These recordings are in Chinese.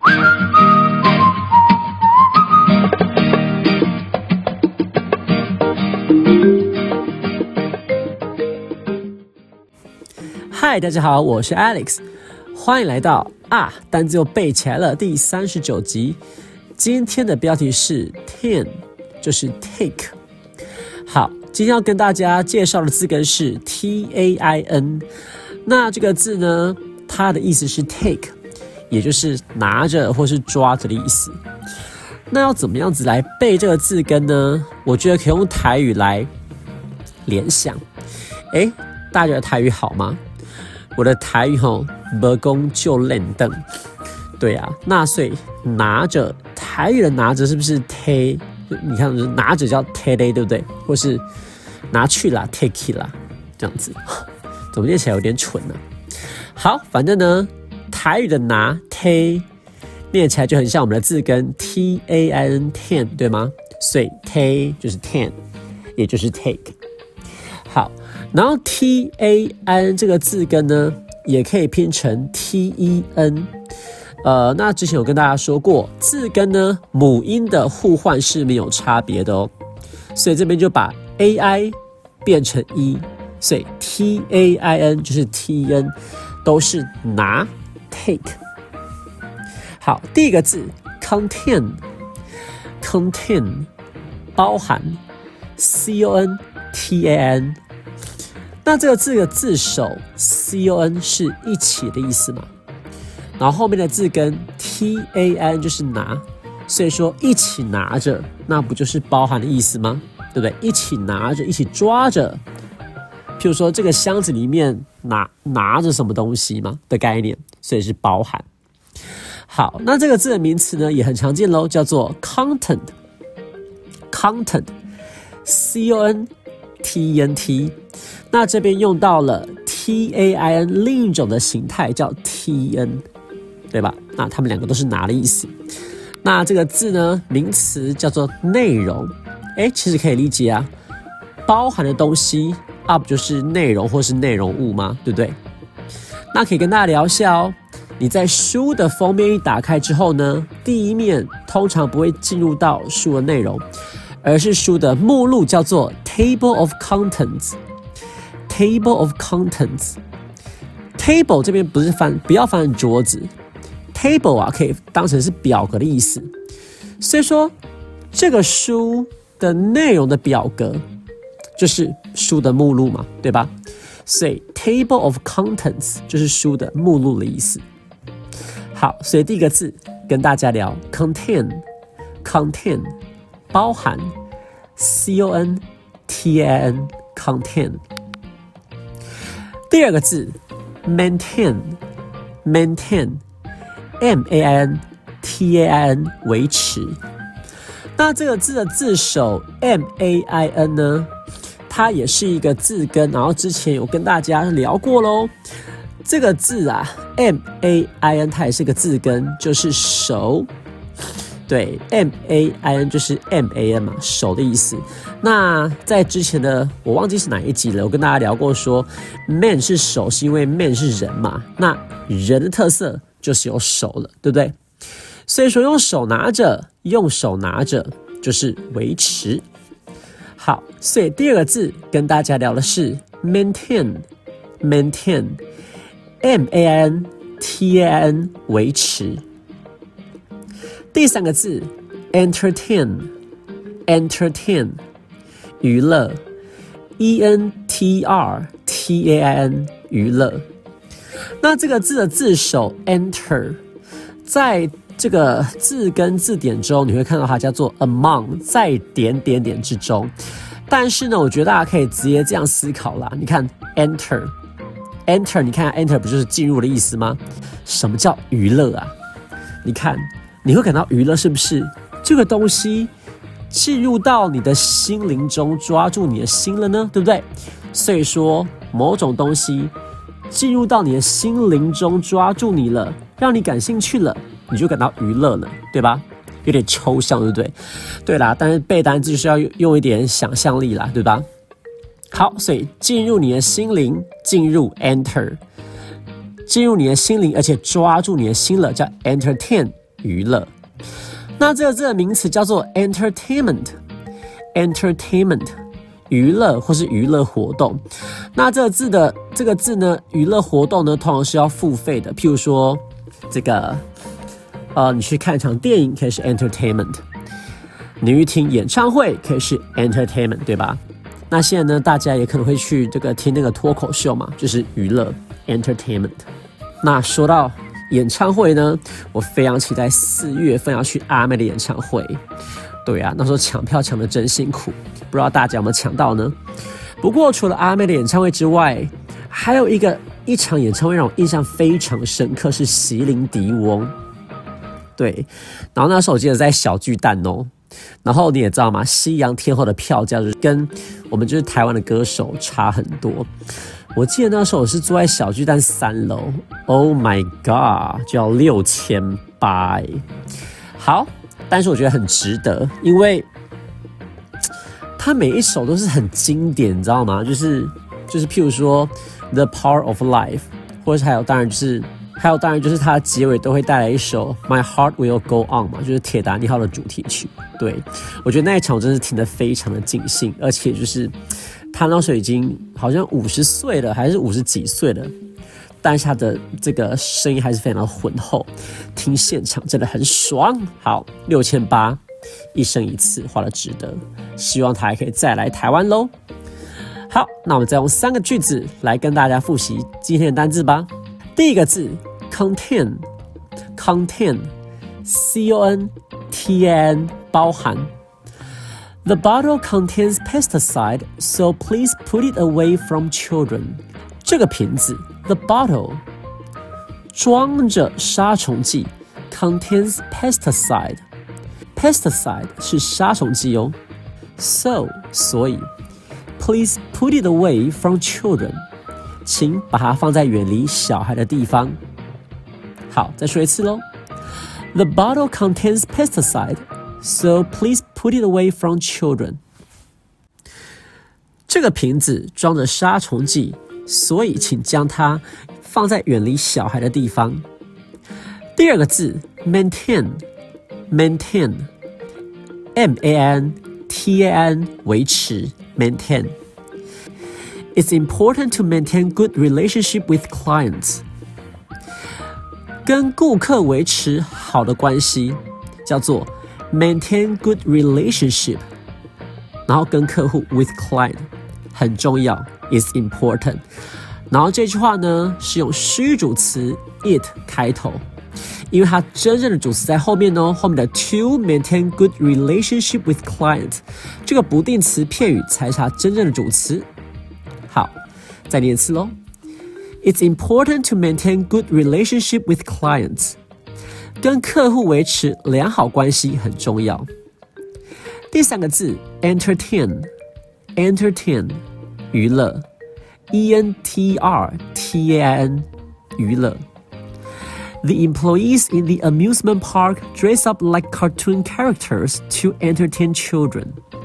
嗨，大家好，我是 Alex， 欢迎来到单字又背起来了第39集。今天的标题是 ten， 就是 take。好，今天要跟大家介绍的字根是 TAIN。那这个字呢，它的意思是 take， 也就是拿着或是抓着的意思。那要怎么样子来背这个字根呢？我觉得可以用台语来联想。大家的台语好吗？我的台语没讲就练凳，对啊，那所以拿着台语的拿着是不是 take？ 你看拿着叫 take， 对不对？或是拿去啦 take 啦，这样子，怎么念起来有点蠢呢？好，反正呢，台语的拿 take 念起来就很像我们的字根 TAIN ten， 对吗？所以 take 就是 ten， 也就是 take。好，然后 TAIN 这个字根呢，也可以拼成 TEN。那之前有跟大家说过，字根呢母音的互换是没有差别的哦，所以这边就把 AI 变成 E， 所以 TAIN 就是 TEN， 都是拿 take。好，第一个字 contain， 包含 CONTAN。那这个字的字首 CON 是一起的意思嘛？然后后面的字根 TAN 就是拿，所以说一起拿着，那不就是包含的意思吗？对不对？一起拿着，一起抓着。譬如说这个箱子里面拿着什么东西嘛的概念，所以是包含。好，那这个字的名词呢也很常见咯，叫做 content CONTENT。那这边用到了 TAIN 另一种的形态叫 TN， 对吧？那他们两个都是拿的意思。那这个字呢，名词叫做内容。其实可以理解啊，包含的东西不就是内容或是内容物吗？对不对？那可以跟大家聊一下哦。你在书的封面一打开之后呢，第一面通常不会进入到书的内容，而是书的目录，叫做 Table of Contents。Table of Contents。Table 这边不要翻成桌子 ，Table 可以当成是表格的意思。所以说，这个书的内容的表格就是书的目录嘛，对吧？所以 Table of Contents 就是书的目录的意思。好，所以第一个字跟大家聊 contain， 包含 CONTAN contain。第二个字 maintain MAINTAIN 维持。那这个字的字首 MAIN 呢，它也是一个字根，然后之前有跟大家聊过咯。这个字MAIN 它也是个字根，就是手。对 ，MAIN 就是 MAN 嘛，手的意思。那在之前的我忘记是哪一集了，我跟大家聊过说 ，man 是手，是因为 man 是人嘛，那人的特色就是有手了，对不对？所以说用手拿着就是维持。好，所以第二个字跟大家聊的是 maintain MAINTAIN 维持。第三个字 entertain 娱乐 ENTRTAIN 娱乐。那这个字的字首 enter 在这个字根字典中，你会看到它叫做 among， 在点之中。但是呢，我觉得大家可以直接这样思考啦。你看 enter， 你看 enter 不就是进入的意思吗？什么叫娱乐啊？你看，你会感到娱乐是不是？这个东西进入到你的心灵中，抓住你的心了呢，对不对？所以说，某种东西进入到你的心灵中，抓住你了，让你感兴趣了，你就感到娱乐了，对吧？有点抽象，对不对？对啦，但是背单词就是要用一点想象力啦，对吧？好，所以进入你的心灵，进入 enter， 进入你的心灵，而且抓住你的心了，叫 entertain， 娱乐。那这个字的名词叫做 entertainment， 娱乐或是娱乐活动。那这个字呢，娱乐活动呢，通常是要付费的。譬如说，这个你去看一场电影可以是 entertainment， 你去听演唱会可以是 entertainment， 对吧？那现在呢，大家也可能会去这个听那个脱口秀嘛，就是娱乐 entertainment。那说到演唱会呢，我非常期待4月份要去阿妹的演唱会。对啊，那时候抢票抢得真辛苦，不知道大家有没有抢到呢？不过除了阿妹的演唱会之外，还有一场演唱会让我印象非常深刻，是席琳迪翁。对，然后那时候我记得在小巨蛋哦。然后你也知道嘛，西洋天后的票价就是跟我们就是台湾的歌手差很多。我记得那时候我是坐在小巨蛋3楼 ，Oh my god， 就要6800。好，但是我觉得很值得，因为他每一首都是很经典，你知道吗？就是譬如说 The Power of Life， 或者当然就是它的结尾都会带来一首 My Heart Will Go On 嘛，就是铁达尼号的主题曲。对，我觉得那一场我真是听得非常的尽兴，而且就是他那时候已经好像50岁了，还是50几岁了，但是他的这个声音还是非常的浑厚，听现场真的很爽。好，6800一生一次，花了值得，希望他还可以再来台湾咯。好，那我们再用3个句子来跟大家复习今天的单字吧。第一个字 contain C-O-N-T-A-N 包含。The bottle contains pesticide, so please put it away from children. 这个瓶子 the bottle 装着杀虫剂 contains pesticide. Pesticide 是杀虫剂哦。So 所以 please put it away from children. 请把它放在远离小孩的地方。好，再说一次咯。The bottle contains pesticide, so please put it away from children. 这个瓶子装着杀虫剂，所以请将它放在远离小孩的地方。第二个字 maintain M-A-N-T-A-N 维持 maintain。It's important to maintain good relationship with clients. 跟顾客维持好的关系叫做 maintain good relationship. 然后跟客户 with client 很重要 is important. 然后这句话呢是用虚主词 it 开头，因为它真正的主词在后面哦，后面的 to maintain good relationship with client 这个不定词片语才是它真正的主词。好，再念一次咯。It's important to maintain good relationship with clients. 跟客户维持良好关系很重要。第3个字 entertain 娱乐 E-N-T-R-T-A-I-N 娱乐。The employees in the amusement park dress up like cartoon characters to entertain children.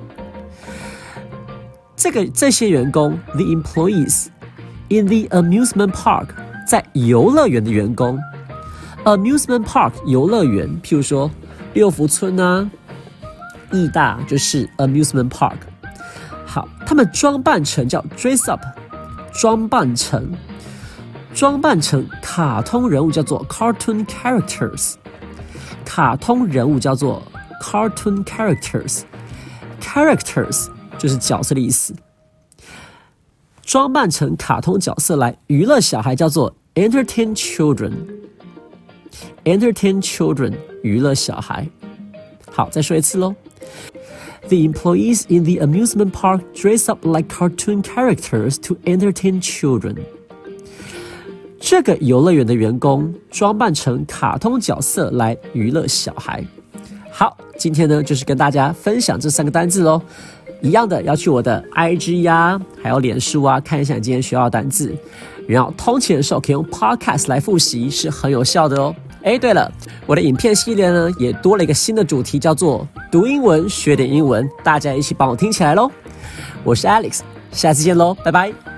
这些员工 the employees in the amusement park 在游乐园的员工 amusement park 游乐园，譬如说六福村啊、义大就是 amusement park。好，他们装扮成叫 dress up， 装扮成卡通人物叫做 cartoon characters， 卡通人物叫做 cartoon characters， 就是角色的意思。装扮成卡通角色来娱乐小孩叫做 entertain children， 娱乐小孩。好，再说一次咯。The employees in the amusement park dress up like cartoon characters to entertain children. 这个游乐园的员工装扮成卡通角色来娱乐小孩。好，今天呢就是跟大家分享这3个单字咯。一样的要去我的 IG 呀，还有脸书啊，看一下你今天学到的单字。然后通勤的时候可以用 Podcast 来复习，是很有效的哦。对了，我的影片系列呢也多了一个新的主题，叫做读英文学点英文，大家一起帮我听起来咯。我是 Alex， 下次见咯，拜拜。